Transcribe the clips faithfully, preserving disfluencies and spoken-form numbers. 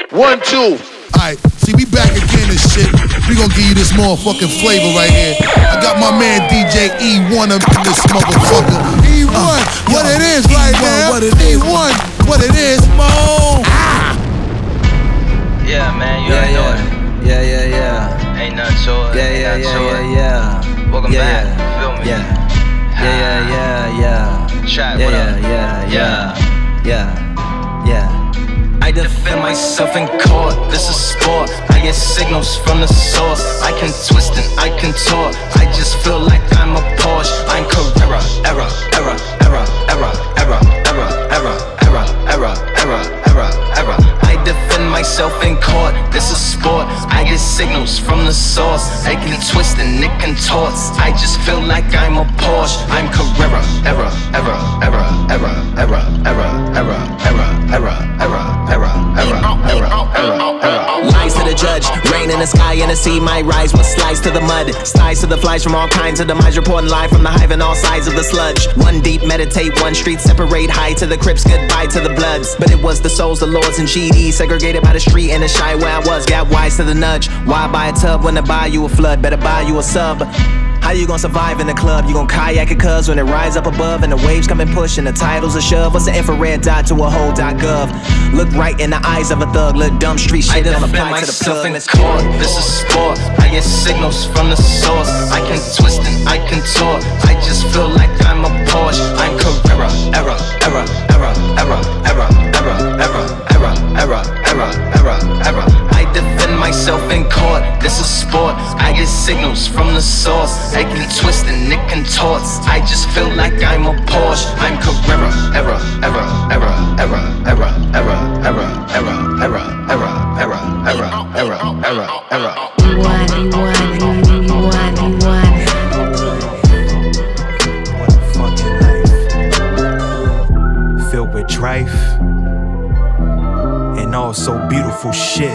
One, two. Alright, see, we back again and shit. We gonna give you this motherfucking flavor right here. I got my man D J E one up in this motherfucker. E one, uh, what yo, it is E one, right now. What it is. E one, what it is, Mo. Ah. Yeah, man, you yeah, already yeah. know it. Yeah, yeah, yeah. Ain't nothing to it. Yeah, Ain't yeah, nothing yeah, to yeah, it. yeah. Welcome yeah, back. Yeah. Feel me? Yeah. Yeah, yeah, yeah, yeah. Trap, yeah, what yeah, up? yeah, yeah, yeah, yeah. I defend myself in court, this is sport. I get signals from the source. I can twist and I can tort. I just feel like I'm a Porsche. I'm Carrera, error, error, error, error, error, error, error, error, error, error, error, error. I defend myself in court, this is sport. I get signals from the source. I can twist and it can tort. I just feel like I'm a Porsche. I'm Carrera, error, error, error, error, error, error, error, error, error, error, error, error, error, error, error. Lies to the judge, rain in the sky and the sea might rise. What slides to the mud, slides to the flies from all kinds of demise. Reporting live from the hive and all sides of the sludge. One deep, meditate, one street, separate. High to the Crips, goodbye to the Bloods. But it was the souls, the lords and G D, segregated by the street and the shy where I was. Got wise to the nudge. Why buy a tub when to buy you a flood? Better buy you a sub. How you gonna survive in the club? You gon' kayak it cuz when it rise up above and the waves come and push and the titles a shove. What's the infrared dot to a whole dot gov? Look right in the eyes of a thug, look dumb street shit don't apply to the plug. In court, this is sport. I get signals from the source. I can twist and I can tort. I just feel like I'm a Porsche. I'm Carrera, error, error, error, error, error, error, error, error, error, error, error, error. I defend myself in court, this is sport. I get signals from the source. I can twist and it can tort. I just feel like I'm a Porsche. I'm Carrera, error, error, error, error, error, error, error, error, error, error, error, error, error, error, error. One, one, one, one. What a fucking life, filled with strife and all so beautiful shit.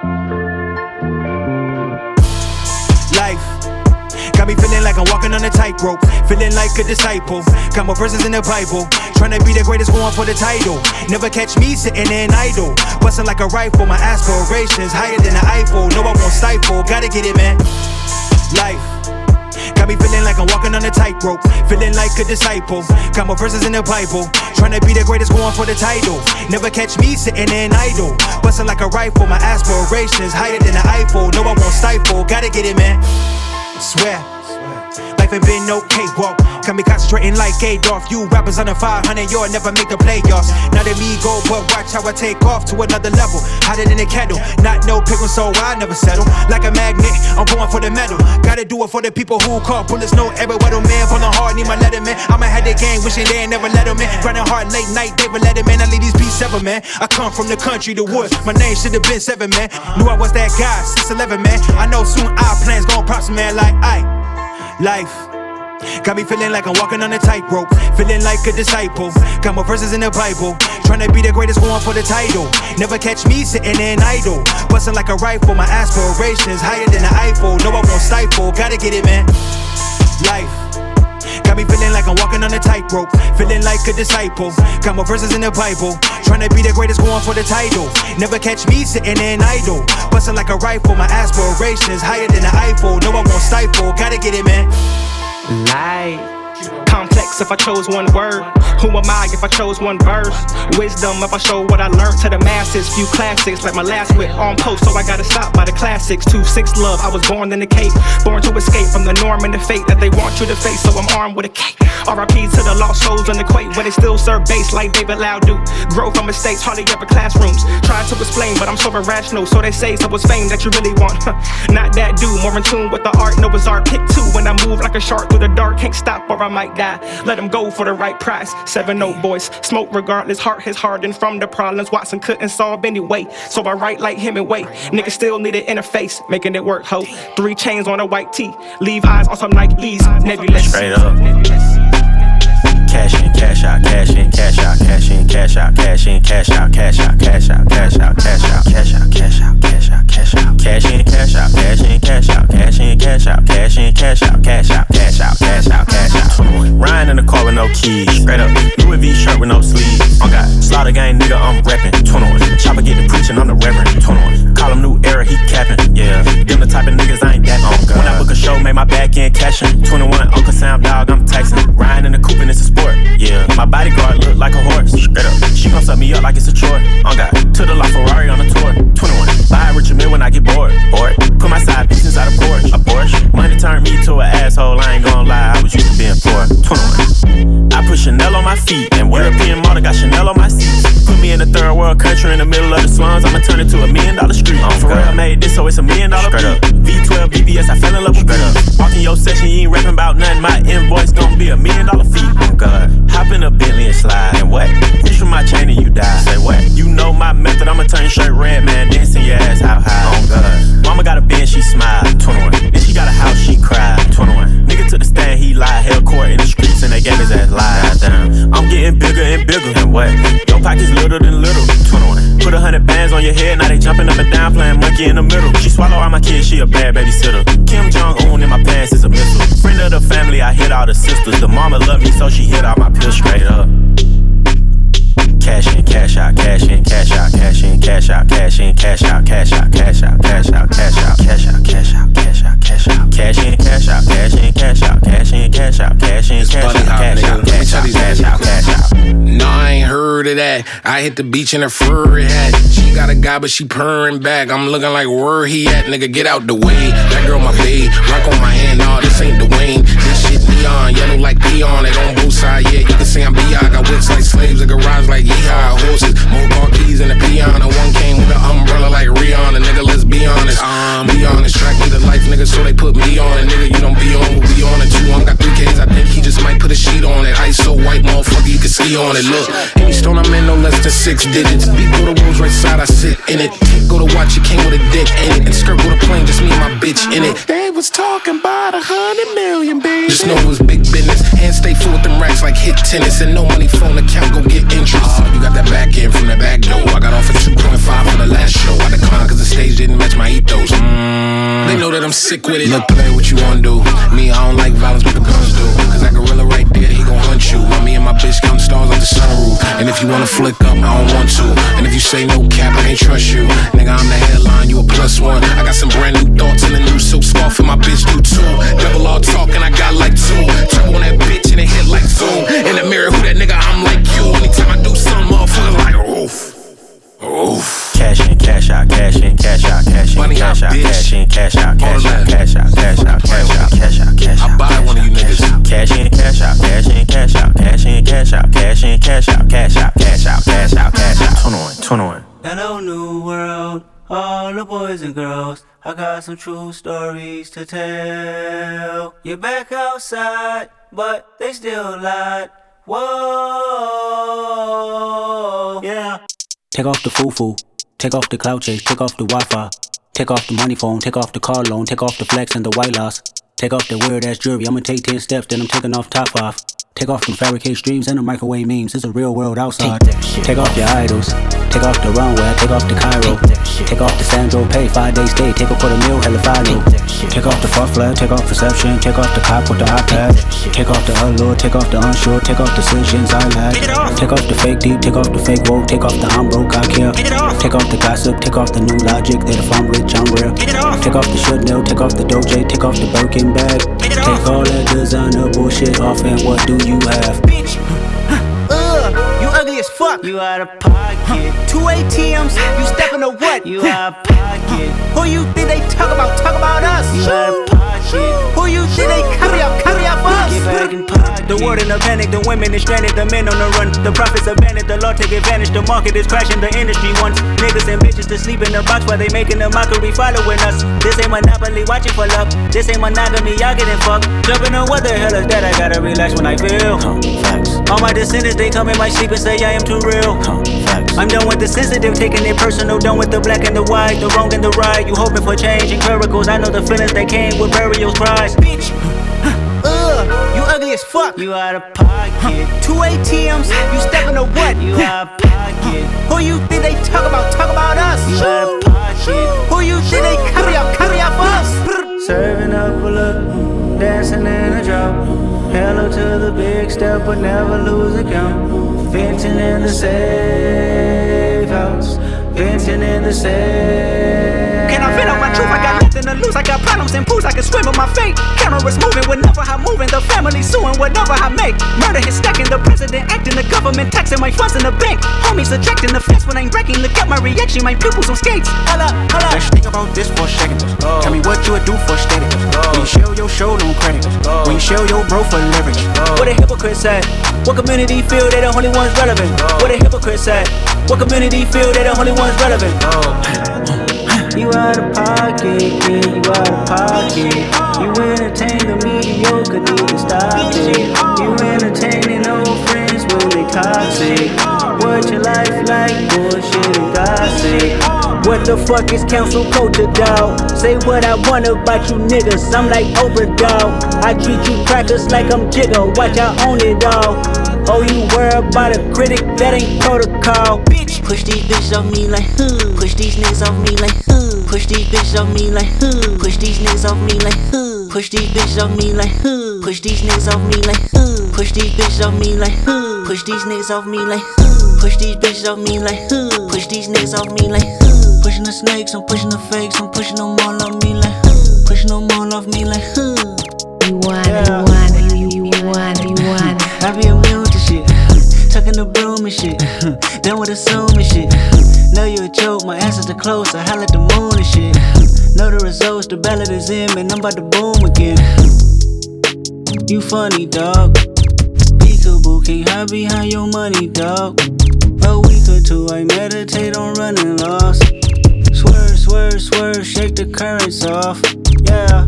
Life got me feeling like I'm walking on a tightrope, feeling like a disciple. Got more verses in the Bible, trying to be the greatest, going for the title. Never catch me sitting in idle, busting like a rifle. My aspirations higher than the Eiffel. No, I won't stifle. Gotta get it, man. Life got me feeling like I'm walking on a tightrope, feeling like a disciple. Got more verses in the Bible, trying to be the greatest, going for the title. Never catch me sitting in idle, busting like a rifle. My aspirations higher than the Eiffel. No, I won't stifle. Gotta get it, man. Swear, life ain't been no cakewalk. Got me concentrating like Adolf. You rappers under five hundred, you'll never make the playoffs. Now that me go, but watch how I take off to another level. Hotter than a kettle, not no pickle, so I never settle. Like a magnet, I'm going for the metal. Gotta do it for the people who call bullets, no error. Weather man, pulling hard, need my letterman. I'ma have the gang, wishing they ain't never let them in. Grinding hard late night, David Letterman. I leave these beats seven, man. I come from the country, the woods. My name should've been seven, man. Knew I was that guy, six eleven, man. I know soon our plans gon' props, man, like I. Life got me feeling like I'm walking on a tightrope, feeling like a disciple. Got more verses in the Bible, trying to be the greatest, going for the title. Never catch me sitting in idle, busting like a rifle. My aspirations higher than the Eiffel. No, I won't stifle. Gotta get it, man. Life got me feeling like I'm walking on a tightrope, feeling like a disciple. Got more verses in the Bible, trying to be the greatest, going for the title. Never catch me sitting in idle, busting like a rifle. My aspirations higher than the Eiffel. No, I won't stifle. Gotta get it, man. Light, complex if I chose one word. Who am I if I chose one verse? Wisdom if I show what I learned to the masses. Few classics like my last wit on post, so I gotta stop by the classics. Two six love, I was born in the Cape, born to escape from the norm and the fate that they want you to face. So I'm armed with a cape. R I P to the lost souls in the quake, where they still serve bass like David Lau do. Grow from mistakes, hardly ever classrooms. Try to explain, but I'm so irrational. So they say, so it's fame that you really want. Not that dude, more in tune with the art. No bizarre pick two when I move like a shark through the dark. Can't stop or I might die. Let him go for the right price. Seven oh boys, smoke regardless. Heart is hardened from the problems Watson couldn't solve anyway. So I write like Hemingway. Niggas still need an interface, making it work, ho. Three chains on a white tee. Levi's on some Nikes. Nebulous. Straight up. Cash in, cash out, cash in, cash out, cash in, cash out, cash in, cash out, cash out, cash out, cash out, cash out, cash out, cash out, cash out, cash out, cash in, cash out, cash in, cash out, cash in, cash out, cash in, cash out, cash out, cash out, cash out, cash out. Riding in the car with no keys, straight up. Louis V shirt with no sleeves. I got slaughter gang nigga, I'm reppin'. twenty-one. Chopper get the preaching, I'm the reverend. fashion. twenty-one, Uncle Sam, dog, I'm Tyson. Riding in the coupe and it's a sport. Yeah, my bodyguard look like a horse. Straight up, she gon' suck me up like it's a chore. On God, to the La Ferrari on a tour. twenty-one, buy a Richard Mille when I get bored. Bored, put my side piece inside a Porsche. A Porsche, money turned me to an asshole. I ain't gon' lie, I was used to being poor. twenty-one, I put Chanel on my feet and European model got Chanel on my seats. Put me in a third world country in the middle of the slums. I'ma turn it to a million dollar street. Oh, for real, I made this, so it's a million dollar straight up. V twelve B B S, I fell in love with straight up. Walk in your section, you ain't rapping about nothing. My invoice gon' be a million dollar fee. Oh God, hop in a Bentley and slide. And what? Reach for my chain and you die. Say what? You know my method, I'ma turn your shirt red, man. Dancing your ass how high. Oh God, mama got a Benz, she smiled. twenty-one, then she got a house, she cried. twenty-one, nigga took the stand, he lied. Held court in the streets and they gave his ass lies. Damn, I'm getting bigger and bigger. And what? Your pockets little than little. twenty-one, put a hundred bands on your head, now they jumping up and down playing monkey in the middle. She swallow all my kids, she a bad babysitter. Kim Jong-un in my pants is a missile. Friend of the family, I hit all the sisters. The mama love me, so she hit all my pills straight up. Cash in, cash out, cash in, cash out, cash in, cash out, cash in, cash out, cash out, cash out, cash out, cash out, cash out, cash out, cash out, cash out, cash in, cash out, cash in, cash out, cash in, cash out, cash in, cash out, cash out, cash out, cash out, cash out. No, I ain't heard of that. I hit the beach in a furry hat. She got a guy, but she purring back. I'm looking like where he at, nigga. Get out the way. That girl my babe, rock on my hand. Nah, this ain't Dwayne. This shit neon, yellow like peon. It on both sides, yeah. You can see I'm B I. Got whips like slaves, a garage like yeehaw. Horses, more car keys in the peon. And one came with an umbrella like Rihanna. Nigga, let's be honest. Um, be honest, track me to life, nigga. So they put me on it, nigga. You don't be on, we'll be on it too. I got three K's. I think he just might put a sheet on it. Ice so white, motherfucker, you can ski on it. Look, any stone I'm in, no less than six digits. Beat go to Rolls right side, I sit in it. Tick go to watch, it came with a dick in it. And skirt go to plane, just me and my bitch in it. They was talking about a hundred million, baby. Just know it was big business. Hands stay full with them racks like hit tennis. And no money phone account, go get interest. Oh, you got that back end from the back door. I got off at two point five for the last show. I declined cause the stage didn't match my ethos. Mm, they know that I'm sick with it. Look, play what you wanna do. Me, I don't like violence, but the guns do. Cause that gorilla right there, he gon' hunt you. While me and my bitch counting stars like the sunroof. And if you wanna flick up, I don't want to. And if you say no cap, I can't trust you. Nigga, I'm the headline, you a plus one. I got some brand new thoughts in the new silk scarf, and my bitch do too. Double all talking, I got like two. Turn on that bitch and it hit like zoom. In the mirror, who that nigga? I'm like you. Anytime I do something, motherfuckers like oof. Oof. Cash in, cash out, cash in, cash out, cash in, cash out, cash in, cash out, cash out, cash out, cash out, cash out, cash out, cash out. I buy one of you niggas. Cash in, cash out, cash in, cash out, cash in, cash out, cash in, cash out, cash out, cash out, cash out, cash out. twenty-one, twenty-one. Hello, new world, all the boys and girls. I got some true stories to tell. You're back outside, but they still lied. Whoa, yeah. Take off the foo-foo, take off the cloud chase, take off the Wi-Fi. Take off the money phone, take off the car loan, take off the flex and the white loss. Take off the weird ass jewelry, I'ma take ten steps, then I'm taking off top off. Take off them fabricated streams and the microwave memes, it's a real world outside. Take off your idols, take off the runway, take off the Cairo. Take off the Sandro Pay, five day stay, take a quarter meal, hella follow. Take off the fuck flag, take off perception, take off the cop with the iPad. Take off the allure, take off the unsure, take off the decisions I lack. Take off the fake deep, take off the fake woke, take off the I'm broke, I care. Take off the gossip, take off the new logic, that if I'm rich, I'm real. Take off the Chanel, take off the Doja, take off the Birkin bag. Take all that designer bullshit off and what do you have? Bitch, ugh, you ugly as fuck. You out of pocket. Two A T Ms, you stepping to what? You out of pocket. Who you think they talk about? Talk about us. You out of pocket. Who you think they carry up? Carry up us. Get back in pocket. The world in a panic, the women is stranded, the men on the run. The profits abandoned, the law take advantage. The market is crashing, the industry wants niggas and bitches to sleep in the box while they making a mockery following us. This ain't monopoly, watching for luck. This ain't monogamy, y'all getting fucked. Jumping on what the hell is that? I gotta relax when I feel. Huh, facts. All my descendants, they come in my sleep and say I am too real. Huh, facts. I'm done with the sensitive, taking it personal. Done with the black and the white, the wrong and the right. You hoping for change and miracles. I know the feelings that came with burial cries. Bitch, ugh, you ugly as fuck. You out of pocket. Two A T Ms, you stepping to what? You out of pocket. Who you think they talk about? Talk about us. You out of pocket. Who you think they carry up? Carry up us. Serving up a look, dancing in a drop. Hello to the big step, but never lose a count. Venting in the safe house. Venting in the safe. Can I vent on my truth? I got nothing to lose. I got problems and pools. I can swim with my fate. Count cameras moving, whenever I'm moving, the family suing whatever I make. Murder is stacking, the president acting, the government taxing my funds in the bank. Homies attracting the fence when I'm breaking. Look at my reaction, my pupils on skates. Holla, holla. Let's think about this for a second. Oh. Tell me what you would do for static. Oh. When you show your show, no credit. Oh. When you show your bro for leverage. Oh. What a hypocrite said. What community feel they the only ones relevant? Oh. What a hypocrite said. What community feel they the only ones relevant? Oh. You out of pocket, yeah, you out of pocket. You entertain the mediocre, need to stop it. You entertaining old friends when they toxic. What your life like, bullshit and gossip. What the fuck is council culture, dawg? Say what I want about you niggas, I'm like Oprah, dawg. I treat you crackers like I'm Jigga, watch I own it all. Oh, you worry about a critic, that ain't protocol. Bitch, push these bitches off me like huh. Push these niggas off me like huh. Push these bitches off me like huh. Push these niggas off me like huh. Push these bitches off me like huh. Push these niggas off me like huh. Push these bitches off me like huh. Push these niggas off me like huh. Push these bitches off me like huh. Push these niggas off me like huh. Pushing the snakes, I'm pushing the fakes, I'm pushing them all off me like huh. Pushing them all off me like huh. You want, yeah. you want, you, you want, you want. I be immune to shit, tucking the broom and shit, done with assuming shit. Know you a joke, my answers are close, I holla at the moon and shit. Know the results, the ballot is in, man, I'm about to boom again. You funny, dog. Peekaboo, can't hide behind your money, dog. A week or two, I meditate on running lost. Swerve, swerve, swerve, shake the currents off, yeah.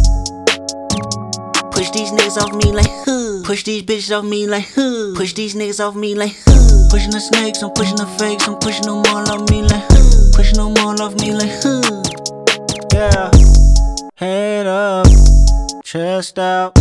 Push these niggas off me like huh. Push these bitches off me like huh. Push these niggas off me like huh. Pushing the snakes, I'm pushing the fakes, I'm pushing them all off me like huh. Pushing them all off me like huh. Yeah. Head up, chest out,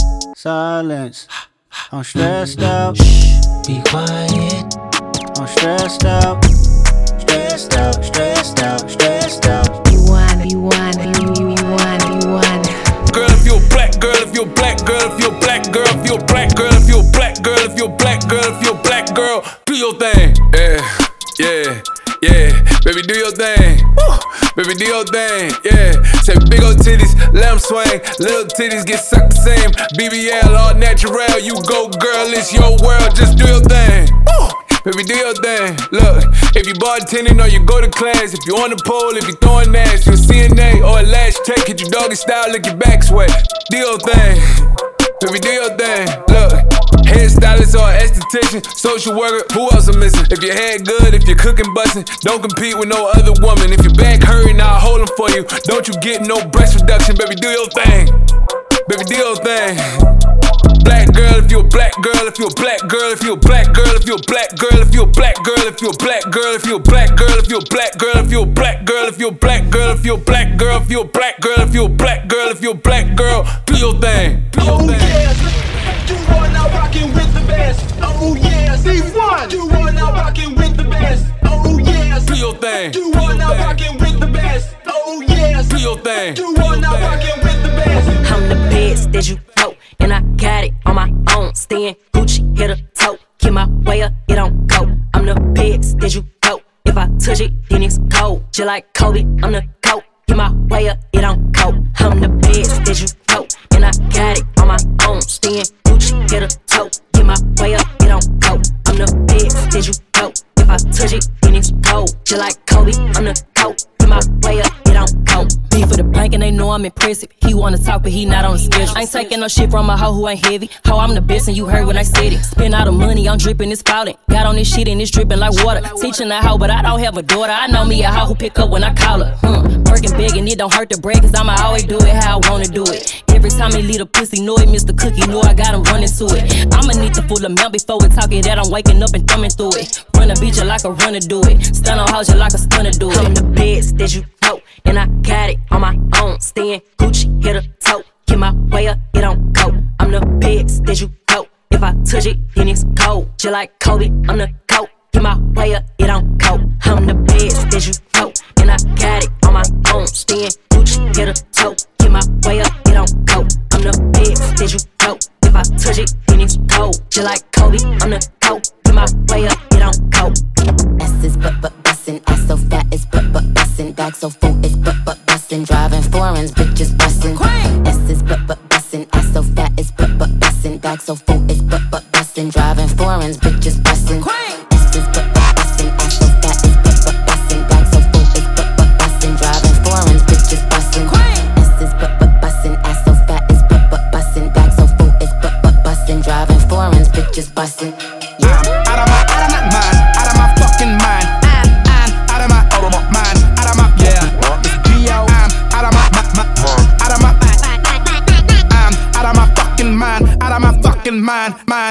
silence. I'm stressed out. Shh, be quiet. I'm stressed out, stressed out, stressed out, stressed out. You want, you want, you, you want, you want. Girl, if you're black, girl, if you're black, girl, if you're black, girl, if you're black, girl, if you're black, girl, if you're black, girl, if you're black, girl, do your thing. Yeah, yeah, yeah. Baby, do your thing. Woo. Baby, do your thing. Yeah. Say big old titties, let them swing. Little titties get sucked the same. B B L, all natural. You go, girl, it's your world. Just do your thing. Woo. Baby, do your thing. Look, if you bartending or you go to class, if you on the pole, if you throwing ass, you a C N A or a lash tech, hit your doggy style, lick your back sweat. Do your thing. Baby, do your thing. Look, hairstylist or esthetician, social worker, who else I'm missing? If your hair good, if you're cooking bustin', don't compete with no other woman. If your back hurting, I'll hold them for you. Don't you get no breast reduction, baby, do your thing. Baby, do your thing. Black girl, if you're a black girl, if you're a black girl, if you're a black girl, if you're a black girl, if you're a black girl, if you're a black girl, if you're a black girl, if you're a black girl, if you're a black girl, if you're a black girl, if you're a black girl, if you're a black girl, if you're a black girl, if you're a black girl, do your thing. Do your thing. You are now rocking with the best. Oh yes, D one. You are now rocking with the best. Oh yes. Do your thing. You are now rocking with the best. Oh yes. Do your thing. You are now rocking with the best. I'm the best that you know, and I got it on my own. Staying Gucci, hit a toe. Keep my way up, it don't go. I'm the best that you know. If I touch it, then it's cold. Just like Kobe, I'm the GOAT. Keep my way up, it don't go. I'm the best that you know, and I got it on my own. Staying Gucci, hit a toe. Keep my way up, it don't go. I'm the best that you know. If I touch it, then it's cold. Just like Kobe, I'm the GOAT. Keep my way up, it don't go. B for the bank and they know I'm impressive. He wanna talk but he not on the schedule. I ain't taking no shit from a hoe who ain't heavy. Ho, I'm the best and you heard when I said it. Spend all the money, I'm dripping, it's spouting. Got on this shit and it's dripping like water. Teaching a hoe but I don't have a daughter. I know me a hoe who pick up when I call her. Hmm. Working big and it don't hurt to break, cause I'ma always do it how I wanna do it. Every time he leave a pussy, know it, Mister Cookie, know I got him running to it. I'ma need to full amount before we talk it that I'm waking up and thumbing through it. Run a beat you like a runner do it. Stun on house you like a stunner do it. I'm the best that you know, and I got it on my own. Staying Gucci, hit a toe. Keep my way up, it don't go. I'm the best that you know. If I touch it, then it's cold. Just like Kobe, I'm the GOAT. Keep my way up, it don't go. I'm the best that you know, and I got it on my own. Staying Gucci, hit a toe. Keep my way up, it don't go. I'm the best that you know. If I touch it, then it's cold. Just like Kobe, I'm the GOAT. Keep my way up, it don't go. S is but but bussin', ass so fat it's but but bussin', bag so full it's but but bussin', driving foreigns, bitches bussin'. S is but but bussin'.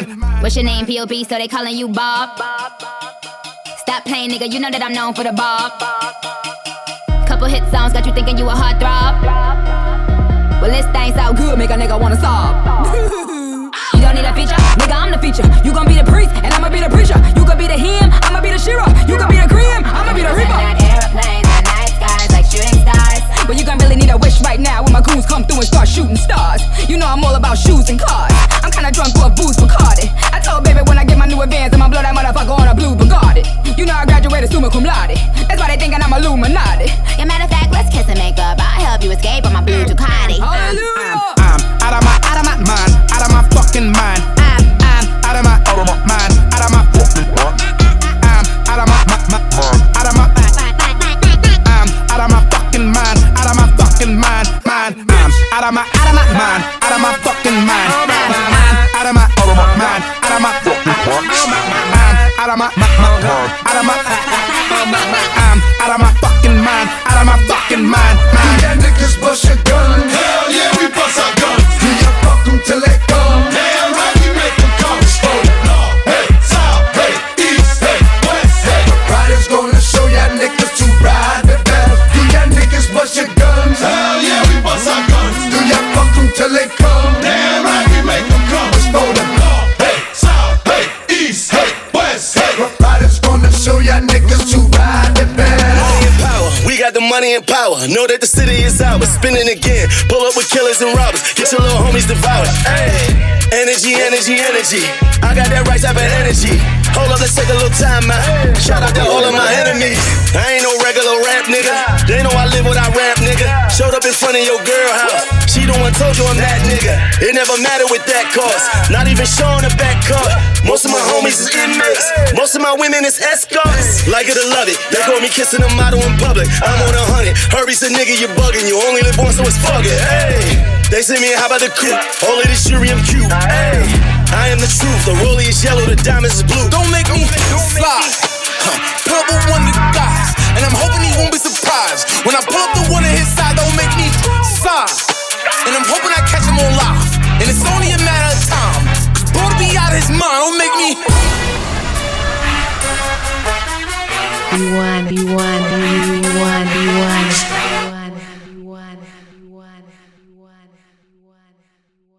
What's your name, P O B, so they calling you Bob? Stop playing, nigga, you know that I'm known for the bob. Couple hit songs got you thinking you a heartthrob. Well, this thing sound good, make a nigga wanna sob. You don't need a feature, nigga, I'm the feature. You gon' be the priest, and I'ma be the preacher. You gon' be the him, I'ma be the Shira. You gon' be the cream, I'ma be the reaper. Airplanes and night skies like shooting stars. But you gon' really need a wish right now when my goons come through and start shooting stars. You know I'm all about shoes and cars. I'm kinda drunk off booze Bacardi. I told baby when I get my new advance, I'ma blow that motherfucker on a blue Bugatti. You know I graduated summa cum laude. That's why they thinking I'm Illuminati. Yeah, matter of fact, let's kiss and make up. I'll help you escape on my blue Ducati. Hallelujah. I'm, I'm out of my, out of my mind, out of my fucking mind. I'm, I'm out of my, out of my mind, out of my fucking mind. I'm out of my, my, my, out of my, I'm out of my fucking mind, out of my fucking mind, mind. I'm out of my, out of my mind, out of my fucking mind, out of my, out of my mind, out of my fucking mind. Out of my, my, my, out of my, I'm out of my fucking mind, out of my fucking mind, mind. Yeah, niggas bust your gun. Hell yeah, we bust our guns. Do ya fuck them till they come? Damn right, we make them come. Oh, North, hey, South, hey, East, hey, West, hey. Riders gonna show ya niggas to ride the best. Do ya niggas bust your guns? Hell yeah, we bust our guns. Do ya fuck them till they come? Damn right, we make them come. Oh, the North, hey, South, hey, East, hey, West, hey. Riders gonna show ya niggas to ride the best. Money and power, we got the money and power. Know that the city is ours, spinning again. Pull up with killers and robbers, get your little homies devoured. Hey, energy, energy, energy. I got that right type of energy. Hold up, let's take a little time out. Shout out to all of my enemies. I ain't no regular rap nigga. They know I live what I rap, nigga. Showed up in front of your girl house. She the one told you I'm that nigga. It never mattered with that cost. Not even showing a back card. Most of my homies is inmates. Most of my women is escorts. Like it or love it. They call me kissing a model in public. I'm on a hundred. Hurry's a nigga, you bugging. You only live once, so it's fuck it. Hey, they say me, how about the coupe? All of this jury, I'm cute. Hey, I am the truth. The rollie is yellow, the diamonds is blue. Don't make me fly. Huh. Purple one of the guys, and I'm hoping he won't be surprised when I pull up the one on his side. Don't make me sigh. And I'm hoping I catch him on live, and it's only a matter of time. Boy to be out of his mind. Don't make me. You want, you want, you want.